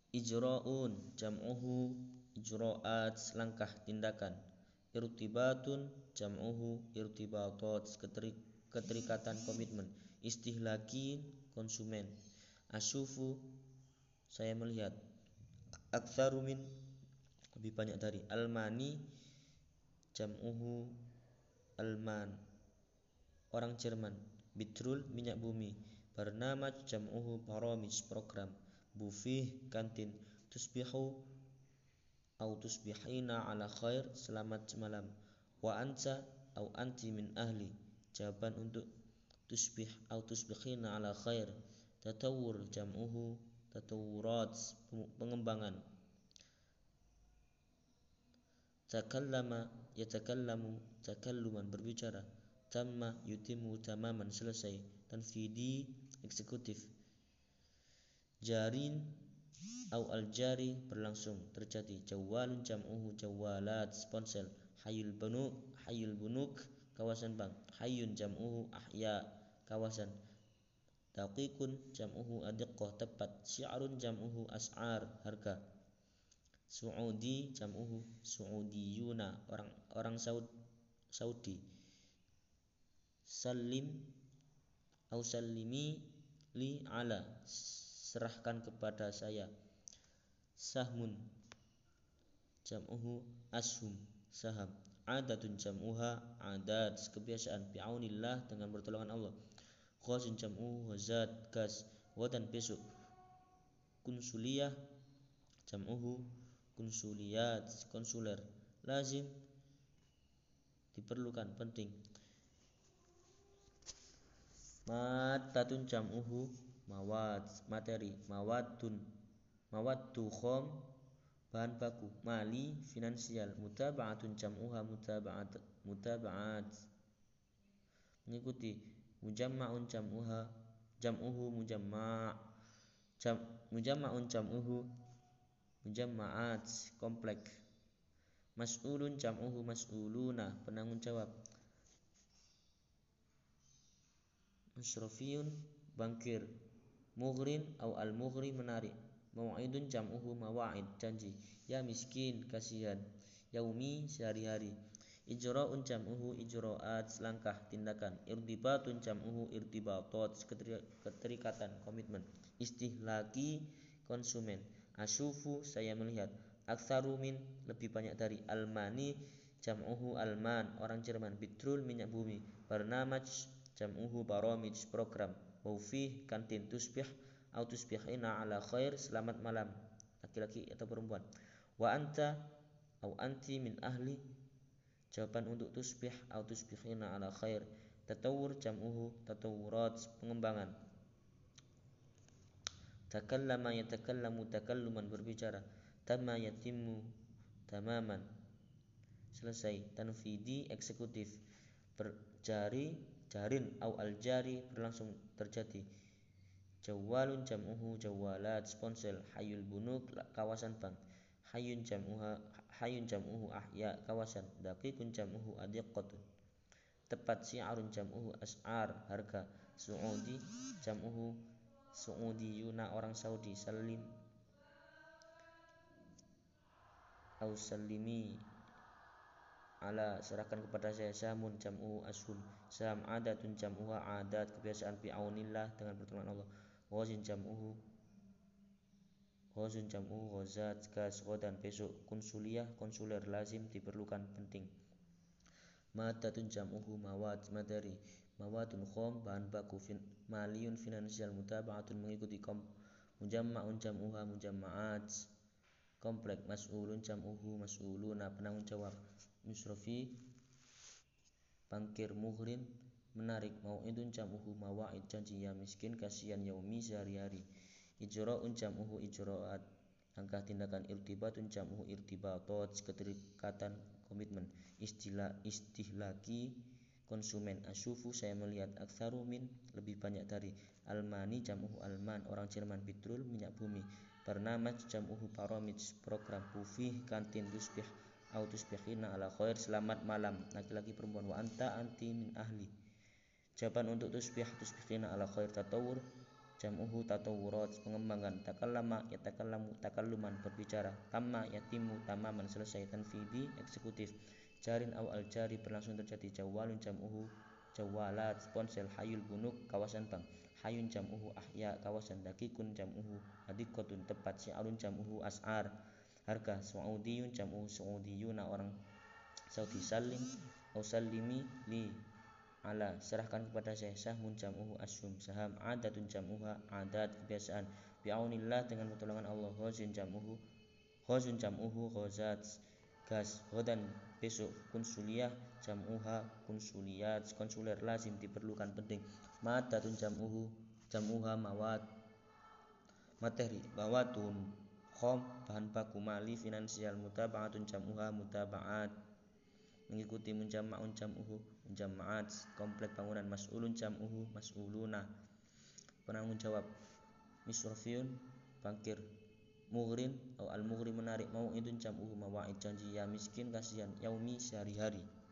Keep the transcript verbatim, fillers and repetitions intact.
Ijra'un jam'uhu ijra'at, langkah tindakan. Irtibatun jam'uhu irtibatat, keterikatan komitmen. Istihlaki konsumen. Asyufu saya melihat. Aktsaru min lebih banyak dari. Almani jam'uhu alman, orang Jerman. Bitrul minyak bumi. Barnamaj jam'uhu baramij, program. Bufih kantin. Tusbihu au tusbihina ala khair, selamat malam. Wa anta au anti min ahli, jawaban untuk tusbih au tusbihina ala khair. Tatawur jam'uhu tatawurat, pengembangan. Takallama yatakallamu takalluman, berbicara. Tamma yutimu tamaman, selesai. Tanfidi eksekutif. Jarin au al-jari, berlangsung, terjadi. Jawalun jam'uhu jawalat, ponsel. Hayul bunuk hayul bunuk, kawasan bank. Hayun jam'uhu ahya, kawasan. Daqiqun jam'uhu adiqqah, tepat. Syi'run jam'uhu as'ar, harga. Su'udi jam'uhu su'udiyuna, orang orang Saudi. Salim au salimi li ala, serahkan kepada saya. Sahmun jam'uhu ashum, saham. Adatun jam'uha adat, kebiasaan. Bi'aunillah, dengan pertolongan Allah. Ghazun jam'uhu ghazat, gas. Wadan, besok. Kunsuliyah jam'uhu kunsuliyat, konsuler. Lazim diperlukan, penting. Madatun jam'uhu mawad, materi. Mawadun mawaddu khom, bahan baku. Mali, finansial. Mutaba'atun jam'uha mutaba'at mutaba'at, mengikuti. Mujamma'un jam'uha jam'uhu mujamma' jam, mujamma'un jam'uhu mujamma'at, komplek. Mas'ulun jam'uhu mas'uluna, penanggung jawab. Musrafiyun, bankir. Mughrin au al-mughri, menarik. Mau'idun jam'uhu mawa'id, janji. Ya miskin, kasihan. Yaumi, sehari-hari. Ijra'un jam'uhu ijra'at, langkah, tindakan. Irtibatun jam'uhu irtibatat, keterikatan, komitmen. Istihlaki konsumen. Asyufu, saya melihat. Aktsaru min, lebih banyak dari. Almani jam'uhu alman, orang Jerman. Bitrul, minyak bumi. Barnamaj jam'uhu baramij, program. Wufih, kantin. Tusbih au tusbihina ala khair, selamat malam, laki-laki atau perempuan. Wa anta au anti min ahli, jawaban untuk tusbih au tusbihina ala khair. Tatawur jam'uhu tatawurat, pengembangan. Takallama yatakallamu takalluman, berbicara. Tamma yatimmu tamaman, selesai. Tanfidi eksekutif. Berjari jarin au al-jari, berlangsung, terjadi. Jawalun jam'uhu jawalat, ponsel. Hayul bunuk, kawasan bank. Hayun jam'uha hayun jam'uhu ahya, kawasan. Daqiqun jam'uhu adiqqatun, tepat. Syi'run jam'uhu as'ar, harga. Su'udi jam'uhu su'udiyuna, orang Saudi. Salim au salimi ala, serahkan kepada saya. Sahmun jam'uhu ashum, saham. Adatun jam'uha adat, kebiasaan. Bi'aunillah, dengan pertolongan Allah. Ghazin jam'uhu ghazun jam'uhu ghazat, gas. Ghadan, besok. Kunsuliyah, konsuler. Lazim, diperlukan, penting. Madatun jam'uhu mawad, materi. Mawadun khom, bahan baku. Fin, maliyun, finansial. Mutaba'atun, mengikuti. Kom, mujamma'un jam'uha mujamma'at, komplek. Mas'ulun jam'uhu mas'uluna, penanggung jawab. Musrafi, bankir. Mughrin, menarik. Mau'idun jam'uhu mawa'id, janji. Ya miskin, kasihan. Yaumi, sehari-hari. Ijra'un jam'uhu ijra'at, langkah, tindakan. Irtibatun jam'uhu irtibatat, keterikatan, komitmen. Istilah istihlaki konsumen. Asyufu, saya melihat. Aktsaru min, lebih banyak dari. Almani jam'uhu alman, orang Jerman. Bitrul, minyak bumi. Barnamaj jam'uhu baramij, program. Bufih, kantin. Tusbih au tusbihina ala khair, selamat malam, laki-laki perempuan. Wa anta anti min ahli, jawaban untuk tusbih tusbihina ala khair. Tatawur jam'uhu tatawurat, pengembangan. Takallama yatakallamu, takalluman, berbicara. Tamma yatimu, tamaman, selesai. Tanfidi, eksekutif. Jarin aw al jari, berlangsung terjadi. Jawalun jam'uhu jawalat, ponsel. Hayul bunuk, kawasan bank. Hayun jam'uhu ahya, kawasan. Dakikun jam'uhu hadikotun, tepat. Syi'arun jam'uhu as'ar, harga. Su'udiyun jam'uhu su'udiyuna, orang Saudi. Salim aw salimi li ala, serahkan kepada saya. Sahmun jam'uhu asyum, saham. Adatun jam'uha adat, kebiasaan. Bi'aunillah, dengan pertolongan Allah. Ghazin jam'uhu ghazun jam'uhu ghazat, gas. Ghadan, besok. Konsuliyah jam'uha konsuliyat, konsuler. Lazim, diperlukan, penting. Madatun jam'uhu jam'uha mawad, materi. Bawatun khom, bahan baku. Mali, finansial. Mutaba'atun jam'uha mutaba'at, mengikuti. Munjamma'un jam'uhu munjamma'at, komplek bangunan. Mas'ulun jam'uhu mas'uluna, penanggung jawab. Misrafiyun, bankir. Mughrin atau al-mughri, menarik. Mau'idun jam'uhu mawa'id, janji. Ya miskin, kasihan. Yaumi, sehari-hari.